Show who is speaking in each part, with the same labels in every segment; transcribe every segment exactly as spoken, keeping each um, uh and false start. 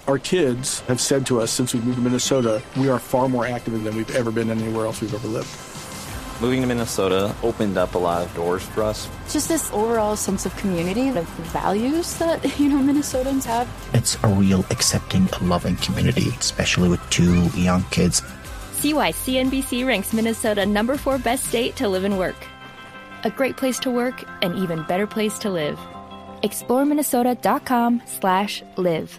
Speaker 1: Our kids have said to us since we moved to Minnesota, we are far more active than we've ever been anywhere else we've ever lived.
Speaker 2: Moving to Minnesota opened up a lot of doors for us.
Speaker 3: Just this overall sense of community, the values that, you know, Minnesotans have.
Speaker 4: It's a real accepting, loving community, especially with two young kids.
Speaker 5: See why C N B C ranks Minnesota number four best state to live and work. A great place to work, an even better place to live. explore minnesota dot com slash live.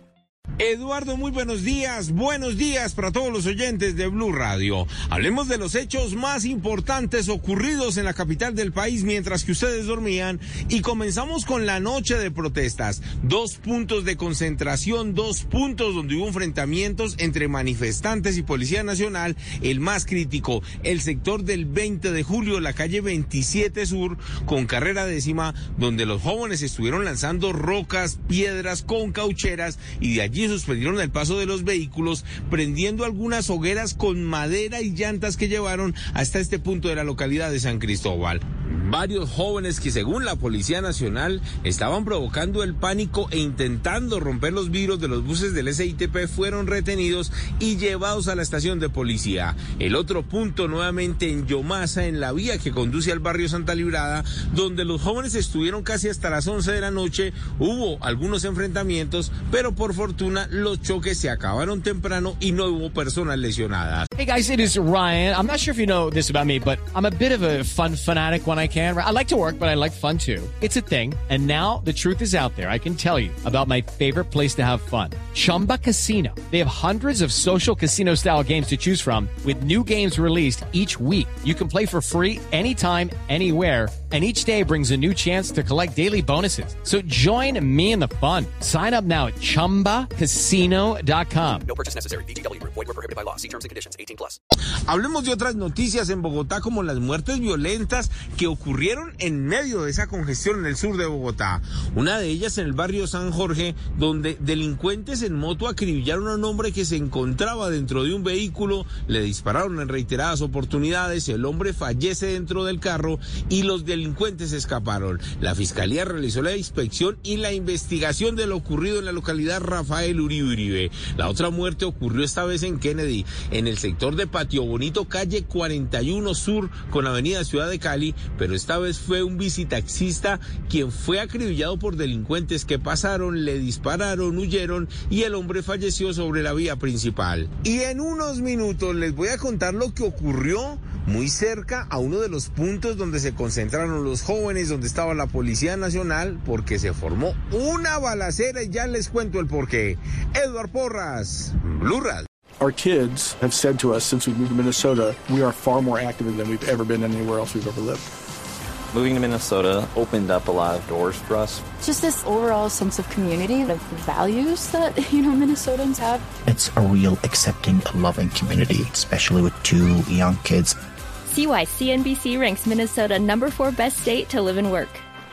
Speaker 6: Eduardo, muy buenos días, buenos días para todos los oyentes de Blue Radio. Hablemos de los hechos más importantes ocurridos en la capital del país mientras que ustedes dormían y comenzamos con la noche de protestas. Dos puntos de concentración, dos puntos donde hubo enfrentamientos entre manifestantes y Policía Nacional. El más crítico, el sector del veinte de julio, la calle veintisiete Sur, con carrera décima, donde los jóvenes estuvieron lanzando rocas, piedras con caucheras y de allí suspendieron el paso de los vehículos, prendiendo algunas hogueras con madera y llantas que llevaron hasta este punto de la localidad de San Cristóbal. Varios jóvenes que según la Policía Nacional estaban provocando el pánico e intentando romper los vidrios de los buses del S I T P fueron retenidos y llevados a la estación de policía. El otro punto nuevamente en Yomasa, en la vía que conduce al barrio Santa Librada, donde los jóvenes estuvieron casi hasta las once de la noche. Hubo algunos enfrentamientos, pero por fortuna los choques se acabaron temprano y no hubo personas lesionadas.
Speaker 7: Hey guys, it is Ryan. I'm not sure if you know this about me, but I'm a bit of a fun fanatic when I can. I like to work, but I like fun too. It's a thing. And now the truth is out there. I can tell you about my favorite place to have fun. Chumba Casino. They have hundreds of social casino style games to choose from with new games released each week. You can play for free anytime, anywhere. And each day brings a new chance to collect daily bonuses. So join me in the fun. Sign up now at chumba casino dot com.
Speaker 8: No purchase necessary. V G W Group. Void where prohibited by law. See terms and conditions. eighteen plus.
Speaker 6: Hablemos de otras noticias en Bogotá, como las muertes violentas que ocurrieron en medio de esa congestión en el sur de Bogotá. Una de ellas en el barrio San Jorge, donde delincuentes en moto acribillaron a un hombre que se encontraba dentro de un vehículo, le dispararon en reiteradas oportunidades, el hombre fallece dentro del carro y los delincuentes escaparon. La fiscalía realizó la inspección y la investigación de lo ocurrido en la localidad Rafael Uribe Uribe. La otra muerte ocurrió esta vez en Kennedy, en el sector de Patio Bonito, calle cuarenta y uno Sur con avenida Ciudad de Cali, pero esta vez fue un bicitaxista quien fue acribillado por delincuentes que pasaron, le dispararon, huyeron y el hombre falleció sobre la vía principal. Y en unos minutos les voy a contar lo que ocurrió muy cerca a uno de los puntos donde se concentraron los jóvenes, donde estaba la Policía Nacional, porque se formó una balacera y ya les cuento el porqué. Eduardo Porras, Blue Radio.
Speaker 1: Our kids have said to us since we moved to Minnesota, we are far more active than we've ever been anywhere else we've ever lived.
Speaker 2: Moving to Minnesota opened up a lot of doors for us.
Speaker 3: Just this overall sense of community, the values that, you know, Minnesotans have.
Speaker 4: It's a real accepting, loving community, especially with two young kids.
Speaker 5: See why C N B C ranks Minnesota number four best state to live and work.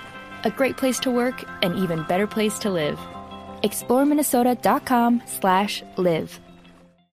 Speaker 5: A great place to work, an even better place to live. explore minnesota dot com slash live.